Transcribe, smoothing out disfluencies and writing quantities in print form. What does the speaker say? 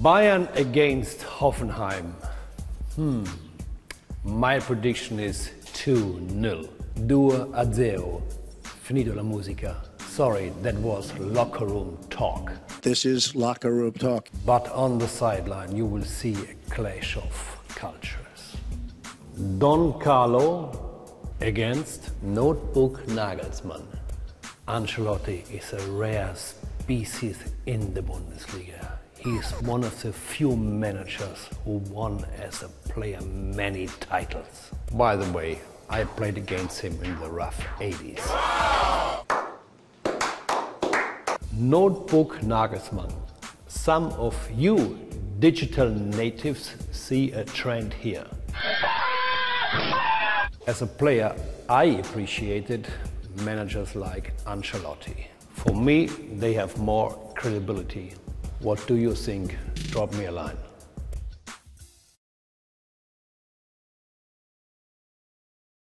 Bayern against Hoffenheim. My prediction is 2-0. 2-0. Finito la musica. Sorry, that was locker room talk. This is locker room talk. But on the sideline you will see a clash of cultures. Don Carlo against Notebook Nagelsmann. Ancelotti is a rare species in the Bundesliga. He is one of the few managers who won as a player many titles. By the way, I played against him in the rough 80s. Notebook Nagelsmann. Some of you digital natives see a trend here. As a player, I appreciated managers like Ancelotti. For me, they have more credibility. What do you think? Drop me a line.